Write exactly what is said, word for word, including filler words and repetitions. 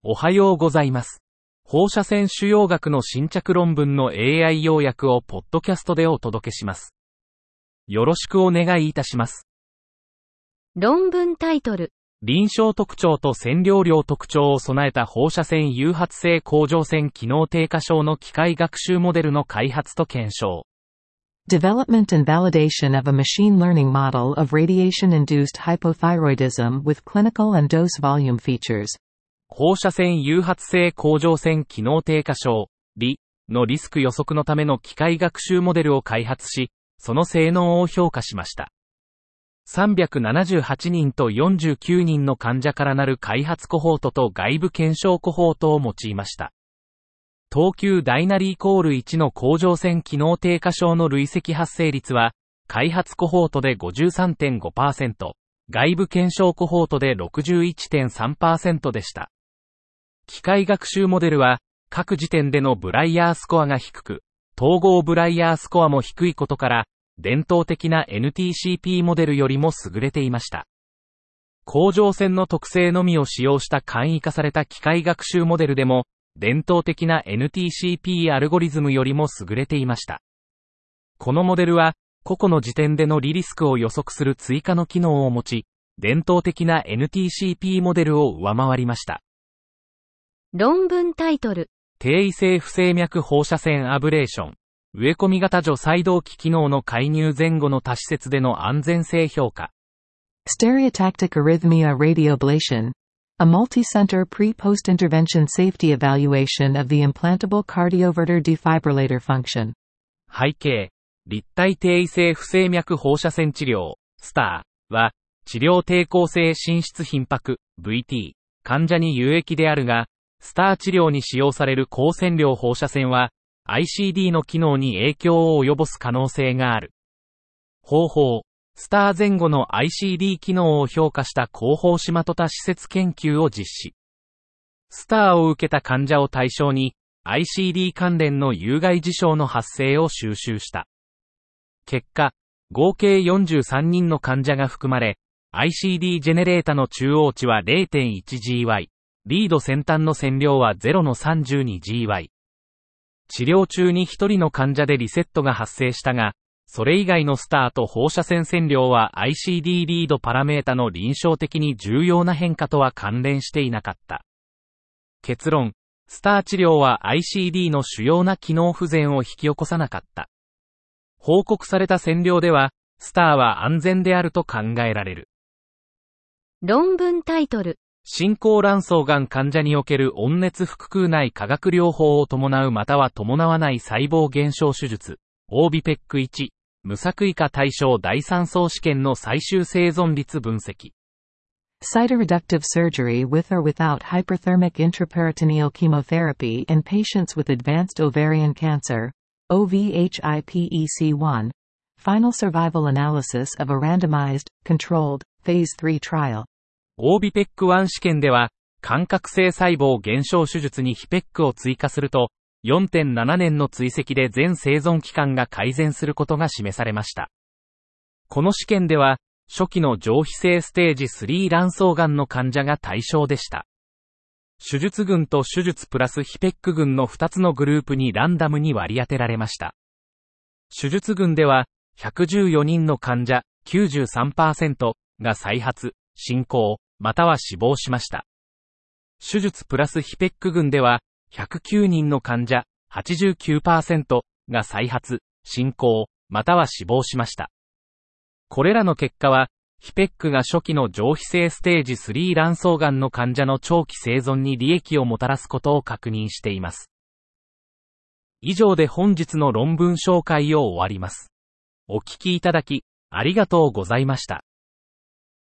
おはようございます。放射線腫瘍学の新着論文の エーアイ 要約をポッドキャストでお届けします。よろしくお願いいたします。 論文タイトル。 臨床特徴と線量量特徴を備えた放射線誘発性甲状腺機能低下症の機械学習モデルの開発と検証。 Development and validation of a machine learning model of radiation-induced hypothyroidism with clinical and dose volume features. 放射線誘発性甲状腺機能低下症、リ のリスク予測のための機械学習モデルを開発し、その性能を評価しました。さんびゃくななじゅうはちにんとよんじゅうきゅうにんの患者からなる開発コホートと外部検証コホートを用いました。等級大なりイコールいちの甲状腺機能低下症の累積発生率は、開発コホートで ごじゅうさんてんごパーセント、外部検証コホートで ろくじゅういちてんさんパーセント でした。機械学習モデルは、各時点でのブライヤースコアが低く、統合ブライヤースコアも低いことから、伝統的な エヌティーシーピー モデルよりも優れていました。甲状腺の特性のみを使用した簡易化された機械学習モデルでも、伝統的な エヌティーシーピー アルゴリズムよりも優れていました。このモデルは、個々の時点でのリリスクを予測する追加の機能を持ち、伝統的な エヌティーシーピー モデルを上回りました。 論文タイトル。 低位性不整脈放射線アブレーション。植え込み型除細動器機能の介入前後の多施設での安全性評価。 Stereotactic arrhythmia radioablation. A multi-center pre-post intervention safety evaluation of the implantable cardioverter defibrillator function. 背景。立体低位性不整脈放射線治療、スター は、治療抵抗性心室頻迫、ブイティー、患者に有益であるが、スター治療に使用される高線量放射線は、アイシーディー の機能に影響を及ぼす可能性がある。方法。スター前後の アイシーディー 機能を評価した後方シマトタ施設研究を実施。スターを受けた患者を対象に、アイシーディー 関連の有害事象の発生を収集した。結果、合計よんじゅうさんにんの患者が含まれ、アイシーディー ジェネレータの中央値は れいてんいちジーワイ、リード先端の線量は ゼロのさんじゅうにジーワイ。治療中にひとりの患者でリセットが発生したが、それ以外のスターと放射線線量は アイシーディー リードパラメータの臨床的に重要な変化とは関連していなかった。結論、スター治療は アイシーディー の主要な機能不全を引き起こさなかった。報告された線量では、スターは安全であると考えられる。 論文タイトル。 進行卵巣がん患者における温熱腹腔内化学療法を伴うまたは伴わない細胞減少手術、オービペックワン、無作為化対象第三層試験の最終生存率分析。 Cytoreductive surgery with or without hyperthermic intraperitoneal chemotherapy in patients with advanced ovarian cancer,オーブイエイチアイペックワン, final survival analysis of a randomized, controlled, phase three trial. オービペックワン 試験では、間隔性細胞減少手術にヒペックを追加すると、よんてんななねんの追跡で全生存期間が改善することが示されました。この試験では、初期の上皮性ステージスリー卵巣がんの患者が対象でした。手術群と手術プラスヒペック群のふたつのグループにランダムに割り当てられました。手術群では、ひゃくじゅうよにんの患者 きゅうじゅうさんパーセント が再発、進行、または死亡しました。手術プラスヒペック群では、ひゃくきゅうにんの患者 はちじゅうきゅうパーセント が再発、進行、または死亡しました。これらの結果は、ヒペックが初期の上皮性ステージスリー卵巣がんの患者の長期生存に利益をもたらすことを確認しています。以上で本日の論文紹介を終わります。お聞きいただき、ありがとうございました。